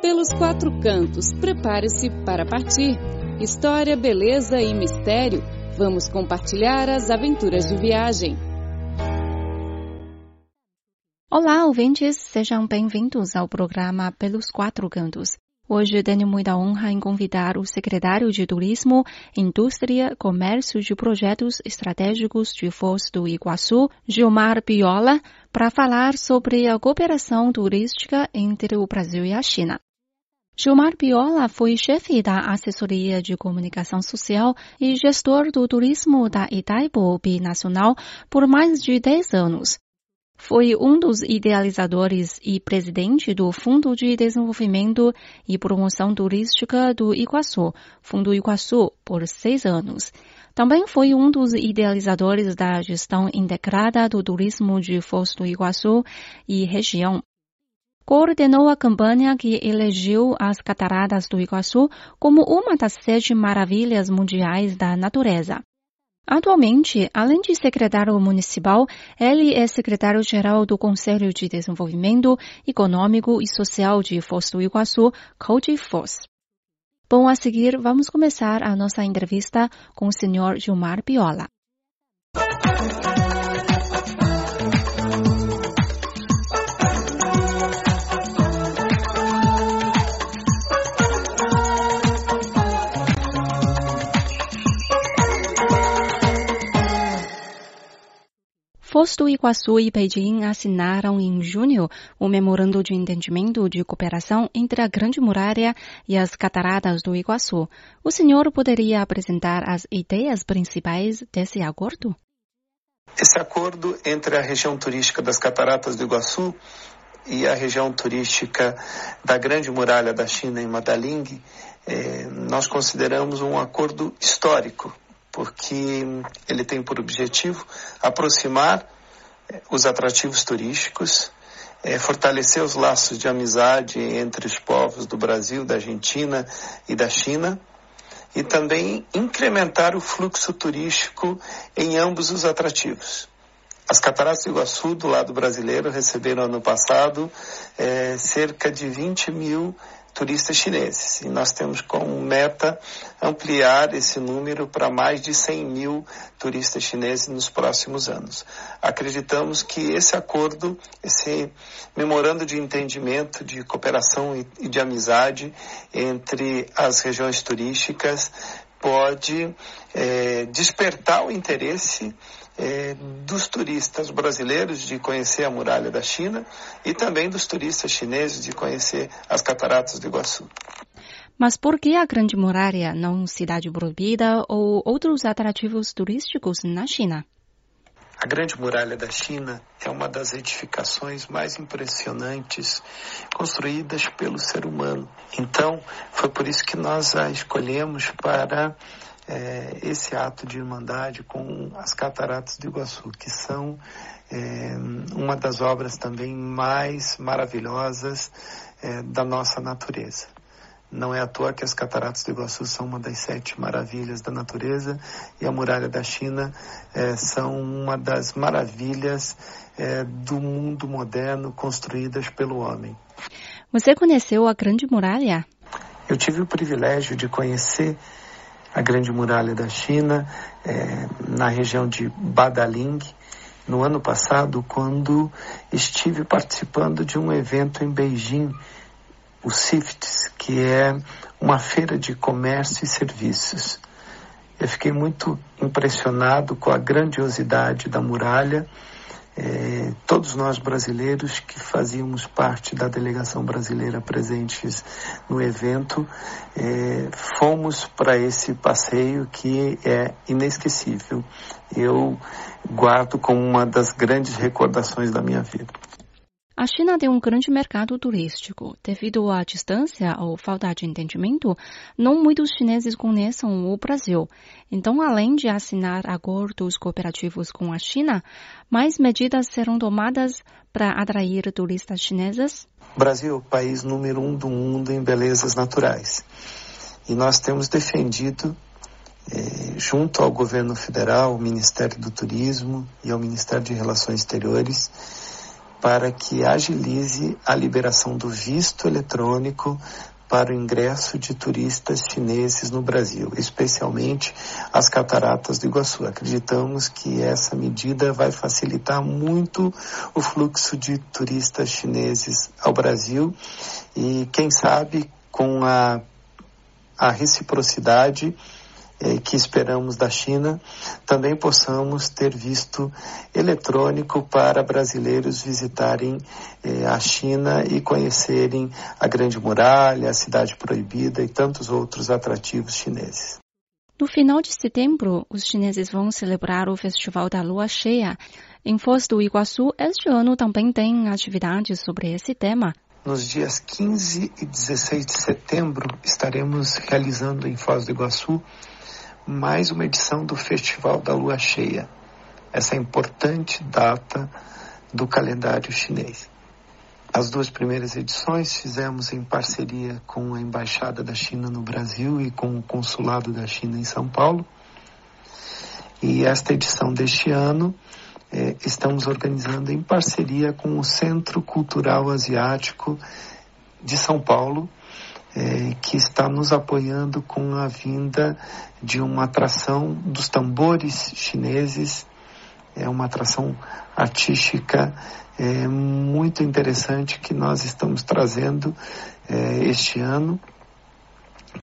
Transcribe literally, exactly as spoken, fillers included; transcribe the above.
Pelos quatro cantos, prepare-se para partir. História, beleza e mistério. Vamos compartilhar as aventuras de viagem. Olá, ouvintes, sejam bem-vindos ao programa Pelos Quatro Cantos. Hoje tenho muita honra em convidar o secretário de Turismo, Indústria, Comércio e Projetos Estratégicos de Foz do Iguaçu, Gilmar Biola, para falar sobre a cooperação turística entre o Brasil e a China. Gilmar Biola foi chefe da Assessoria de Comunicação Social e gestor do turismo da Itaipu Binacional por mais de dez anos. Foi um dos idealizadores e presidente do Fundo de Desenvolvimento e Promoção Turística do Iguaçu, Fundo Iguaçu, por seis anos. Também foi um dos idealizadores da Gestão Integrada do Turismo de Foz do Iguaçu e região. Coordenou a campanha que elegeu as Cataratas do Iguaçu como uma das sete maravilhas mundiais da natureza. Atualmente, além de secretário municipal, ele é secretário-geral do Conselho de Desenvolvimento Econômico e Social de Foz do Iguaçu, CODEFOZ. Bom, a seguir, vamos começar a nossa entrevista com o senhor Gilmar Biola. Foz do Iguaçu e Beijing assinaram em junho o memorando de entendimento de cooperação entre a Grande Muralha e as Cataratas do Iguaçu. O senhor poderia apresentar as ideias principais desse acordo? Esse acordo entre a região turística das Cataratas do Iguaçu e a região turística da Grande Muralha da China em Madaling, eh, nós consideramos um acordo histórico, porque ele tem por objetivo aproximar os atrativos turísticos, é, fortalecer os laços de amizade entre os povos do Brasil, da Argentina e da China, e também incrementar o fluxo turístico em ambos os atrativos. As Cataratas do Iguaçu, do lado brasileiro, receberam ano passado é, cerca de vinte mil turistas chineses. E nós temos como meta ampliar esse número para mais de cem mil turistas chineses nos próximos anos. Acreditamos que esse acordo, esse memorando de entendimento, de cooperação e de amizade entre as regiões turísticas pode é, despertar o interesse É, dos turistas brasileiros de conhecer a muralha da China e também dos turistas chineses de conhecer as Cataratas do Iguaçu. Mas por que a Grande Muralha, não Cidade Proibida ou outros atrativos turísticos na China? A Grande Muralha da China é uma das edificações mais impressionantes construídas pelo ser humano. Então, foi por isso que nós a escolhemos para É, esse ato de irmandade com as Cataratas do Iguaçu, que são é, uma das obras também mais maravilhosas é, da nossa natureza. Não é à toa que as Cataratas do Iguaçu são uma das sete maravilhas da natureza e a Muralha da China é, são uma das maravilhas é, do mundo moderno construídas pelo homem. Você conheceu a Grande Muralha? Eu tive o privilégio de conhecer a Grande Muralha da China, é, na região de Badaling, no ano passado, quando estive participando de um evento em Beijing, o C I F T S, que é uma feira de comércio e serviços. Eu fiquei muito impressionado com a grandiosidade da muralha. É, todos nós brasileiros que fazíamos parte da delegação brasileira presentes no evento, é, fomos para esse passeio que é inesquecível. Eu guardo como uma das grandes recordações da minha vida. A China tem um grande mercado turístico. Devido à distância ou falta de entendimento, não muitos chineses conhecem o Brasil. Então, além de assinar acordos cooperativos com a China, mais medidas serão tomadas para atrair turistas chineses? O Brasil é o país número um do mundo em belezas naturais. E nós temos defendido, eh, junto ao governo federal, ao Ministério do Turismo e ao Ministério de Relações Exteriores, para que agilize a liberação do visto eletrônico para o ingresso de turistas chineses no Brasil, especialmente as cataratas do Iguaçu. Acreditamos que essa medida vai facilitar muito o fluxo de turistas chineses ao Brasil e, quem sabe, com a, a reciprocidade que esperamos da China, também possamos ter visto eletrônico para brasileiros visitarem eh, a China e conhecerem a Grande Muralha, a Cidade Proibida e tantos outros atrativos chineses. No final de setembro, os chineses vão celebrar o Festival da Lua Cheia. Em Foz do Iguaçu, este ano também tem atividades sobre esse tema. Nos dias quinze e dezesseis de setembro, estaremos realizando em Foz do Iguaçu mais uma edição do Festival da Lua Cheia, essa importante data do calendário chinês. As duas primeiras edições fizemos em parceria com a Embaixada da China no Brasil e com o Consulado da China em São Paulo. E esta edição deste ano eh, estamos organizando em parceria com o Centro Cultural Asiático de São Paulo, É, que está nos apoiando com a vinda de uma atração dos tambores chineses, é uma atração artística é, muito interessante que nós estamos trazendo é, este ano